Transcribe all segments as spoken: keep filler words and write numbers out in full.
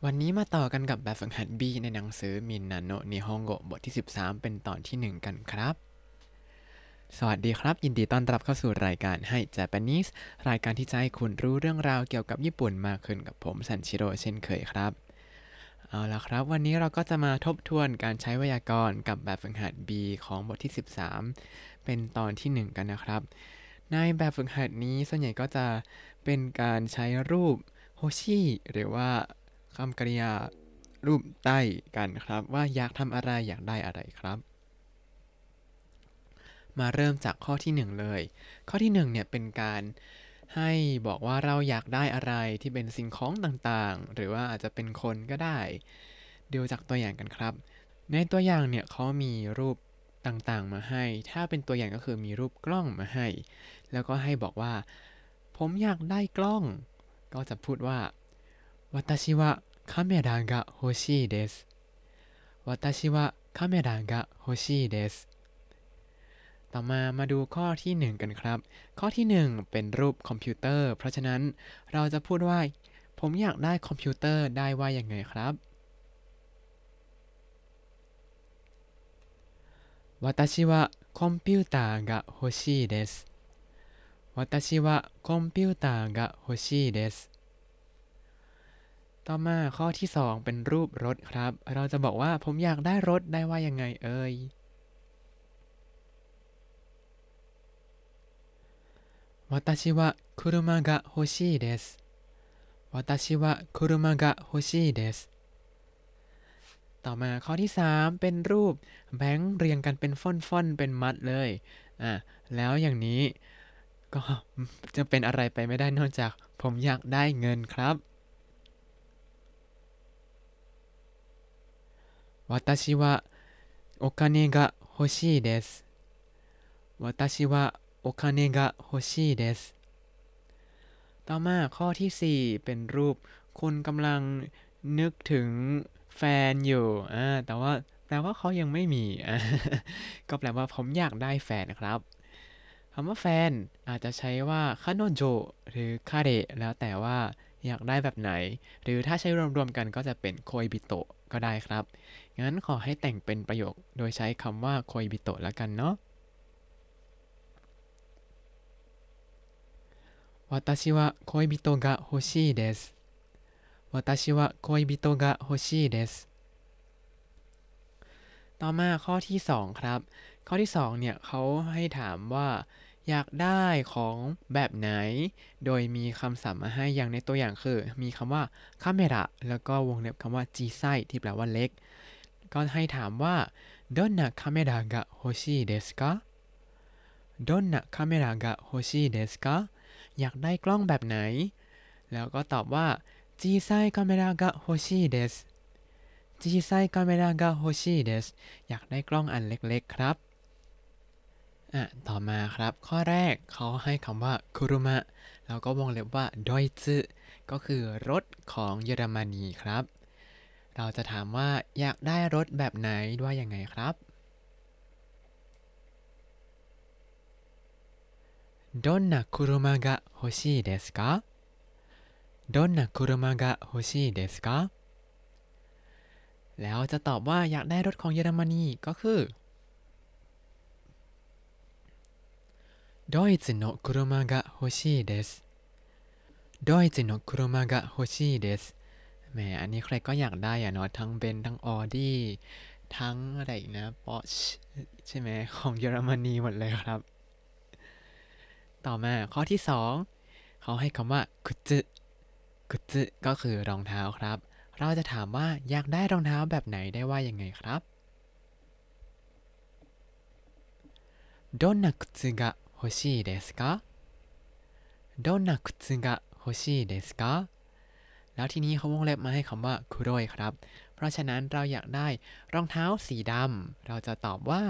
วันนี้มาต่อกันกับแบบฝึกหัด B ในหนังสือมินนาโนะนิฮงโกะบทที่สิบสามเป็นตอนที่หนึ่งกันครับสวัสดีครับยินดีต้อนรับเข้าสู่รายการให้ Japanese รายการที่จะให้คุณรู้เรื่องราวเกี่ยวกับญี่ปุ่นมากขึ้นกับผมซันชิโร่เช่นเคยครับเอาล่ะครับวันนี้เราก็จะมาทบทวนการใช้ไวยากรณ์กับแบบฝึกหัด B ของบทที่สิบสามเป็นตอนที่หนึ่งกันนะครับในแบบฝึกหัดนี้ส่วนใหญ่ก็จะเป็นการใช้รูปโฮชิหรือว่าคำกริยารูปใต้กันครับว่าอยากทำอะไรอยากได้อะไรครับมาเริ่มจากข้อที่หนึ่งเลยข้อที่หนึ่งเนี่ยเป็นการให้บอกว่าเราอยากได้อะไรที่เป็นสิ่งของต่างๆหรือว่าอาจจะเป็นคนก็ได้ดูจากตัวอย่างกันครับในตัวอย่างเนี่ยเขามีรูปต่างๆมาให้ถ้าเป็นตัวอย่างก็คือมีรูปกล้องมาให้แล้วก็ให้บอกว่าผมอยากได้กล้องก็จะพูดว่า私はカメラが欲しいです私はカメラが欲しいですต่อมามาดูข้อที่หนึ่งกันครับข้อที่หนึ่งเป็นรูปคอมพิวเตอร์เพราะฉะนั้นเราจะพูดว่าผมอยากได้คอมพิวเตอร์ได้ว่ายังไงครับ私はコンピューターが欲しいです私はコンピューターが欲しいですต่อมาข้อที่สองเป็นรูปรถครับเราจะบอกว่าผมอยากได้รถได้ว่ายังไงเอ่ย私は車が欲しいです私は車が欲しいですต่อมาข้อที่สามเป็นรูปแบงค์เรียงกันเป็นฟ่อนๆเป็นมัดเลยอ่ะแล้วอย่างนี้ก็จะเป็นอะไรไปไม่ได้นอกจากผมอยากได้เงินครับ私はお金が欲しいです私はお金が欲しいですต่อมาข้อที่สี่เป็นรูปคุณกำลังนึกถึงแฟนอยู่อ่าแต่ว่าแปลว่าเขายังไม่มีอ่าก็แปลว่าผมอยากได้แฟนครับคำว่าแฟนอาจจะใช้ว่าคาโนโจหรือคาเดะแล้วแต่ว่าอยากได้แบบไหนหรือถ้าใช้รวมๆกันก็จะเป็นโคยบิโตะก็ได้ครับงั้นขอให้แต่งเป็นประโยคโดยใช้คำว่าโคยบิโตะแล้วกันเนาะ私は恋人が欲しいです私は恋人が欲しいですต่อมาข้อที่สองครับข้อที่สองเนี่ยเขาให้ถามว่าอยากได้ของแบบไหนโดยมีคำศัพท์มาให้อย่างในตัวอย่างคือมีคำว่าคาเมระแล้วก็วงเล็บคำว่าจีไซที่แปลว่าเล็กก็ให้ถามว่าどんなカメラが欲しいですかどんなカメラが欲しいですかอยากได้กล้องแบบไหนแล้วก็ตอบว่า小さいカメラが欲しいです小さいカメラが欲しいですอยากได้กล้องอันเล็กๆครับอ่ะต่อมาครับข้อแรกเขาให้คำว่าคุรุมะแล้วก็วงเล็บว่าดอยซึก็คือรถของเยอรมนีครับเราจะถามว่าอยากได้รถแบบไหนด้วยยังไงครับどんな車が欲しいですかどんな車が欲しいですかแล้วจะตอบว่าอยากได้รถของเยอรมนีก็คือドイツの車が欲しいですドイツの車が欲しいですแหมอันนี้ใครก็อยากได้อะเนาะทั้งเบนซ์ทั้งออดี้ทั้งอะไรอีกนะปอร์ชใช่ไหมของเยอรมนีหมดเลยครับต่อมาข้อที่สองเขาให้คำว่ากุจึกุจึก็คือรองเท้าครับเราจะถามว่าอยากได้รองเท้าแบบไหนได้ว่ายังไงครับどんな靴が欲しいですかどんな靴が欲しいですかแล้วทีนี้เขาวงเล็บมาให้คำว่าคุโรยครับเพราะฉะนั้นเราอยากได้รองเท้าสีดำเราจะตอบว่า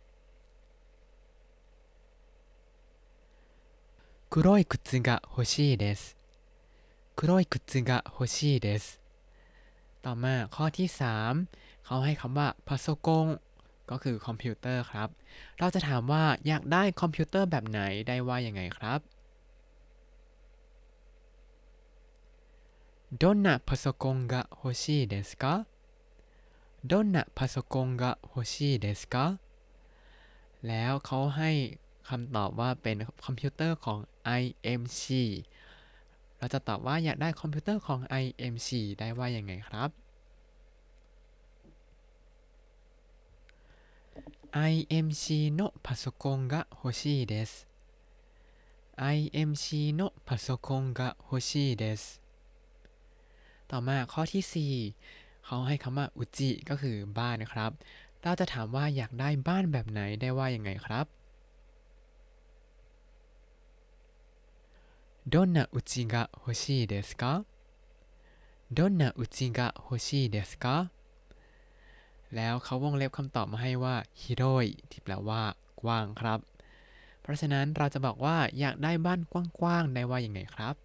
黒い靴が欲しいです黒い靴が欲しいですต่อมาข้อที่สามเขาให้คำว่าพาโซกงก็คือคอมพิวเตอร์ครับเราจะถามว่าอยากได้คอมพิวเตอร์แบบไหนได้ว่ายังไงครับどんなパソコンが欲しいですかどんなパソコンが欲しいですかแล้วเขาให้คำตอบว่าเป็นคอมพิวเตอร์ของ ไอ เอ็ม ซี เราจะตอบว่าอยากได้คอมพิวเตอร์ของ ไอ เอ็ม ซี ได้ว่ายังไงครับ ไอ เอ็ม ซี のパソコンが欲しいです ไอ เอ็ม ซี のパソコンが欲しいですต่อมาข้อที่สี่เขาให้คำว่าอุจิก็คือบ้านนะครับเราจะถามว่าอยากได้บ้านแบบไหนได้ว่ายังไงครับどんな家が欲しいですかどんな家が欲しいですかแล้วเขาวงเล็บคำตอบมาให้ว่าฮิโรยที่แปลว่ากว้างครับเพราะฉะนั้นเราจะบอกว่าอยากได้บ้านกว้างๆได้ว่ายังไงครับ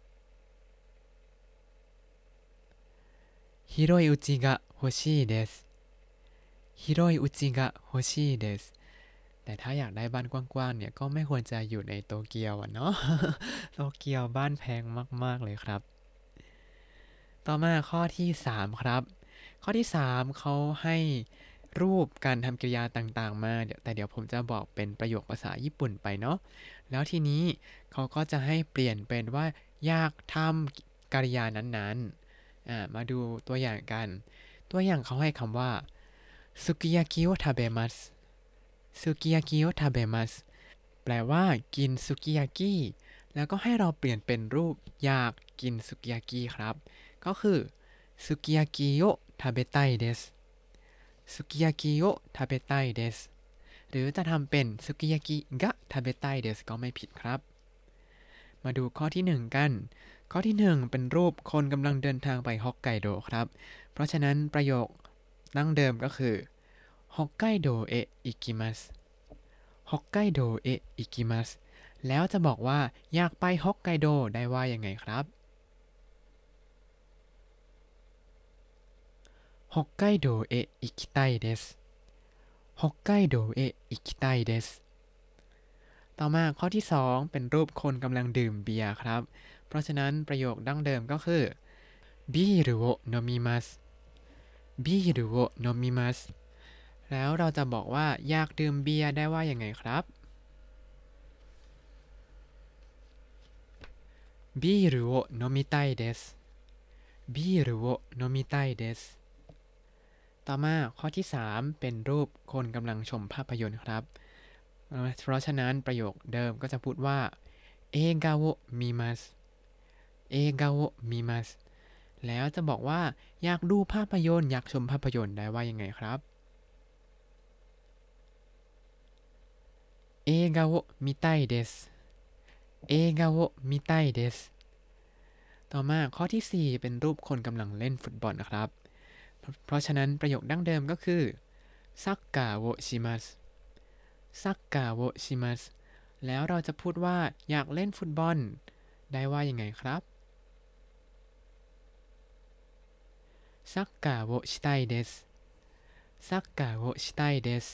広い家が欲しいです広い家が欲しいですแต่ถ้าอยากได้บ้านกว้างๆเนี่ยก็ไม่ควรจะอยู่ในโตเกียวอะเนาะ โตเกียวบ้านแพงมากๆเลยครับต่อมาข้อที่สามครับข้อที่สามเขาให้รูปการทำกริยาต่างๆมาเดี๋ยวแต่เดี๋ยวผมจะบอกเป็นประโยคภาษาญี่ปุ่นไปเนาะแล้วทีนี้เขาก็จะให้เปลี่ยนเป็นว่าอยากทำกริยานั้นๆอ่ามาดูตัวอย่างกันตัวอย่างเขาให้คำว่าสุกิยากิโอทาเบมัสสุกิยากิโอทาเบมัสแปลว่ากินสุกิยากิแล้วก็ให้เราเปลี่ยนเป็นรูปอยากกินสุกิยากิครับก็คือสุกิยากิโอทาเบไตเดสสุกิยากิโอทาเบไตเดสหรือจะทำเป็นสุกิยากิกะทาเบไตเดสก็ไม่ผิดครับมาดูข้อที่หนึ่งกันข้อที่หนึ่งเป็นรูปคนกำลังเดินทางไปฮอกไกโดครับเพราะฉะนั้นประโยคดั้งเดิมก็คือฮอกไกโดเอะอิกิมัสฮอกไกโดเอะอิกิมัสแล้วจะบอกว่าอยากไปฮอกไกโดได้ว่ายังไงครับ北海道へ行きたいです北海道へ行きたいですต่อมาข้อที่สองเป็นรูปคนกำลังดื่มเบียร์ครับเพราะฉะนั้นประโยคดั้งเดิมก็คือビールを飲みますビールを飲みますแล้วเราจะบอกว่าอยากดื่มเบียร์ได้ว่ายังไงครับビールを飲みたいですビールを飲みたいですต่อมาข้อที่สามเป็นรูปคนกำลังชมภาพยนตร์ครับเพราะฉะนั้นประโยคเดิมก็จะพูดว่าเอกาโอมิมัสเอกาโอมิมัสแล้วจะบอกว่าอยากดูภาพยนตร์อยากชมภาพยนตร์ได้ว่ายังไงครับเอกาโอมิไตเดสเอกาโอมิไตเดสต่อมาข้อที่สี่เป็นรูปคนกำลังเล่นฟุตบอลนะครับเพราะฉะนั้นประโยคดั้งเดิมก็คือซักกะโวชิมัสซักกะโวชิมัสแล้วเราจะพูดว่าอยากเล่นฟุตบอลได้ว่ายังไงครับซักกะโวชิไตเดสซักกะโวชิไตเดส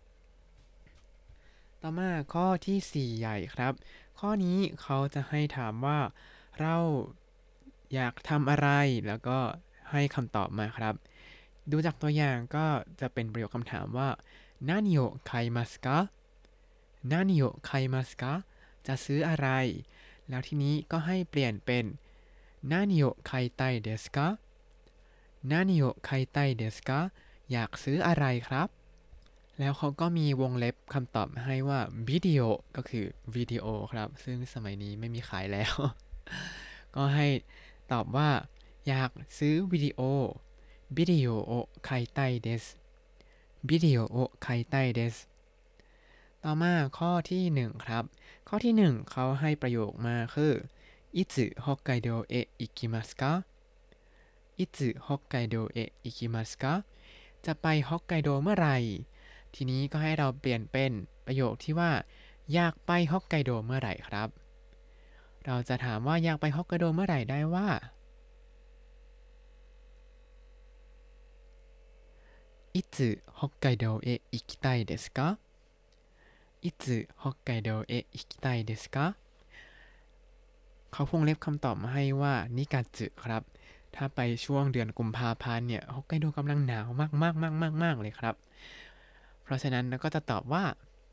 ต่อมาข้อที่สี่ใหญ่ครับข้อนี้เขาจะให้ถามว่าเราอยากทำอะไรแล้วก็ให้คำตอบมาครับดูจากตัวอย่างก็จะเป็นประโยคคำถามว่า何を買いますか何を買いますかจะซื้ออะไรแล้วทีนี้ก็ให้เปลี่ยนเป็น何を買いたいですか何を買いたいですかอยากซื้ออะไรครับแล้วเขาก็มีวงเล็บคำตอบมาให้ว่าวิดีโอก็คือวิดีโอครับซึ่งสมัยนี้ไม่มีขายแล้ว ก็ให้ตอบว่าอยากซื้อวิดีโอวิดีโอを買いたいですวิดีโอを買いたいですต่อมาข้อที่หนึ่งครับข้อที่หนึ่งเขาให้ประโยคมาคือいつ北海道へ行きますかいつ北海道へ行きますかจะไปฮอกไกโดเมื่อไหร่ทีนี้ก็ให้เราเปลี่ยนเป็นประโยคที่ว่าอยากไปฮอกไกโดเมื่อไหร่ครับเราจะถามว่าอยากไปฮอกไกโดเมื่อไหร่ได้ว่ายつ北海道へ行きたいですかいつ北海道へ行きたいですかเขาพงเล็บคำตอบมาให้ว่านิกาจึครับถ้าไปช่วงเดือนกุมภาพันธ์เนี่ยฮอกไกโดกำลังหนาวมากๆๆๆๆเลยครับเพราะฉะนั้นเราก็จะตอบว่า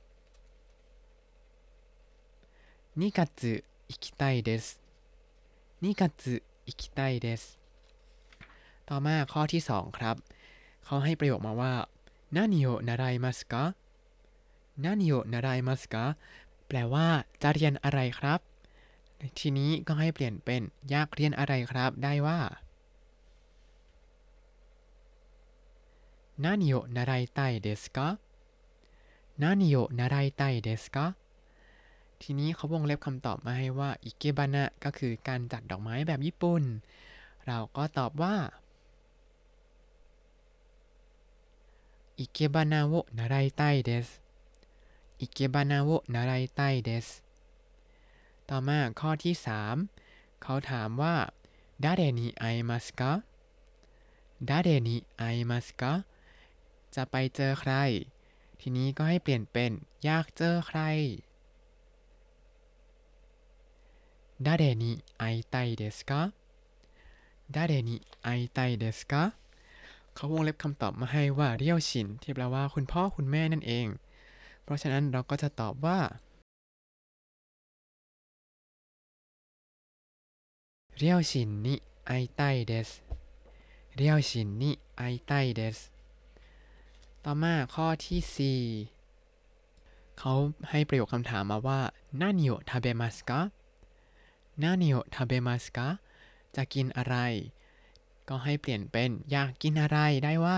にがつ行きたいですにがつ行きたいですต่อมาข้อที่สองครับเขาให้ประโยคมาว่า何を習いますか何を習いますかแปลว่าจะเรียนอะไรครับทีนี้ก็ให้เปลี่ยนเป็นอยากเรียนอะไรครับได้ว่า何を習いたいですか何を習いたいですかทีนี้เขาวงเล็บคำตอบมาให้ว่าอิเกบานะก็คือการจัดดอกไม้แบบญี่ปุ่นเราก็ตอบว่าอิเกบานะโอนาราイたいですอิเกบานะโอนาราイたいですต่อมาข้อที่สามเขาถามว่า誰に会いますか誰に会いますかจะไปเจอใครทีนี้ก็ให้เปลี่ยนเป็นอยากเจอใคร誰に会いたいですか誰に会いたいですかเขาวงเล็บคำตอบมาให้ว่าเรียวชินที่แปลว่าคุณพ่อคุณแม่นั่นเองเพราะฉะนั้นเราก็จะตอบว่าเรียวชินに会いたいですเรียวชินに会いたいですต่อมาข้อที่สี่เขาให้ประโยคคำถามมาว่า何を食べますか何を食べますかจะกินอะไรก็ให้เปลี่ยนเป็นอยากกินอะไรได้ว่า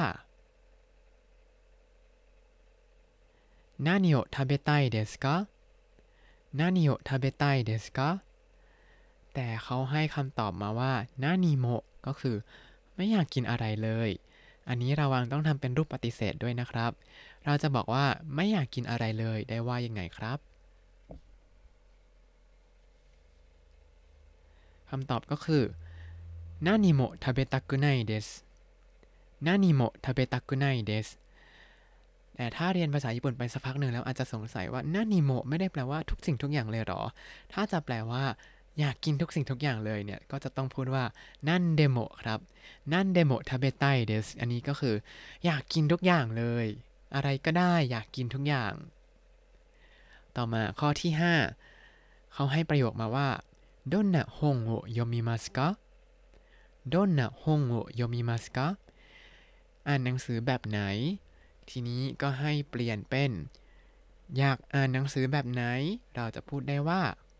何を食べたいですか何を食べたいですかแต่เขาให้คำตอบมาว่านานิโมะก็คือไม่อยากกินอะไรเลยอันนี้ระวังต้องทำเป็นรูปปฏิเสธด้วยนะครับเราจะบอกว่าไม่อยากกินอะไรเลยได้ว่ายังไงครับคำตอบก็คือนานิโมะทาเบตะกุไนเดสนานิโมะทาเบตะกุไนเดสแต่ถ้าเรียนภาษาญี่ปุ่นไปสักพักหนึ่งแล้วอาจจะสงสัยว่านานิโมะไม่ได้แปลว่าทุกสิ่งทุกอย่างเลยหรอถ้าจะแปลว่าอยากกินทุกสิ่งทุกอย่างเลยเนี่ยก็จะต้องพูดว่านั่นเดโมะครับนั่นเดโมะทาเบไตเดสอันนี้ก็คืออยากกินทุกอย่างเลยอะไรก็ได้อยากกินทุกอย่างต่อมาข้อที่ห้าเขาให้ประโยคมาว่าどんな本を読みますかどんな本を読みますかอ่านหนังสือแบบไหนทีนี้ก็ให้เปลี่ยนเป็นอยากอ่านหนังสือแบบไหนเราจะพูดได้ว่า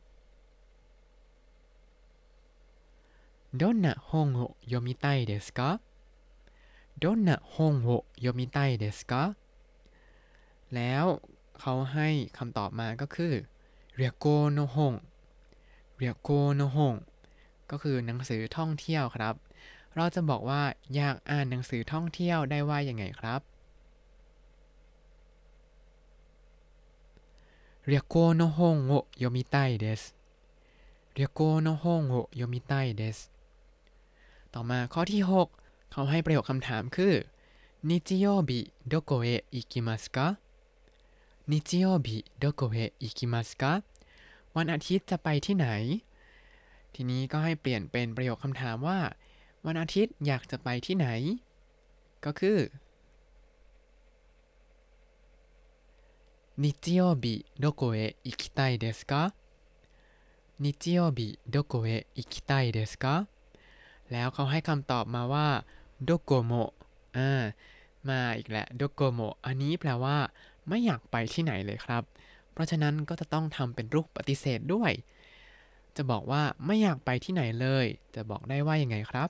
どんな本を読みたいですかどんな本を読みたいですかแล้วเขาให้คำตอบมาก็คือเรียโกโนฮงเรียโกโนฮงก็คือหนังสือท่องเที่ยวครับเราจะบอกว่าอยากอ่านหนังสือท่องเที่ยวได้ว่ายังไงครับเรียโกโนฮงを読みたいですเรียโกโนฮงを読みたいですต่อมาข้อที่หกเขาให้ประโยคคำถามคือ日曜日どこへ行きますか日曜日どこへ行きますかวันอาทิตย์จะไปที่ไหนทีนี้ก็ให้เปลี่ยนเป็นประโยคคำถามว่าวันอาทิตย์อยากจะไปที่ไหนก็คือ日曜日どこへ行きたいですか日曜日どこへ行きたいですかแล้วเขาให้คำตอบมาว่าโดโกโมะอ่ามาอีกแล้วโดโกโมะอันนี้แปลว่าไม่อยากไปที่ไหนเลยครับเพราะฉะนั้นก็จะต้องทำเป็นรูปปฏิเสธด้วยจะบอกว่าไม่อยากไปที่ไหนเลยจะบอกได้ว่ายังไงครับ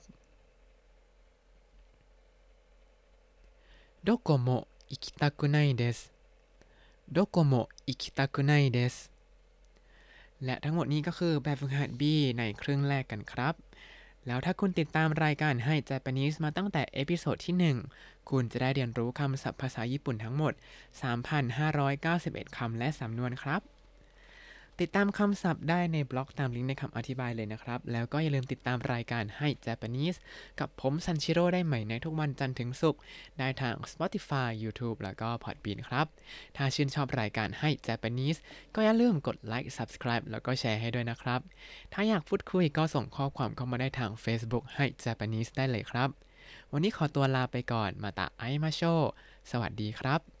โดโกโมะอิคิตาคุไนเดสโดโกโมะอิคิตาคุไนเดสและทั้งหมดนี้ก็คือแบบฝึกหัด B ในครึ่งแรกกันครับแล้วถ้าคุณติดตามรายการให้ Japanese มาตั้งแต่เอพิโซดที่หนึ่งคุณจะได้เรียนรู้คำศัพท์ภาษาญี่ปุ่นทั้งหมด สามพันห้าร้อยเก้าสิบเอ็ด คำและสำนวนครับติดตามคำศัพท์ได้ในบล็อกตามลิงก์ในคำอธิบายเลยนะครับแล้วก็อย่าลืมติดตามรายการให้ Japanese กับผมซันชิโร่ได้ใหม่ในทุกวันจันทร์ถึงศุกร์ได้ทาง Spotify YouTube แล้วก็ Podbean ครับถ้าชื่นชอบรายการให้ Japanese ก็อย่าลืมกดไลค์ Subscribe แล้วก็แชร์ให้ด้วยนะครับถ้าอยากพูดคุยก็ส่งข้อความเข้ามาได้ทาง Facebook ให้ Japanese ได้เลยครับวันนี้ขอตัวลาไปก่อนมาตะไอมาโชสวัสดีครับ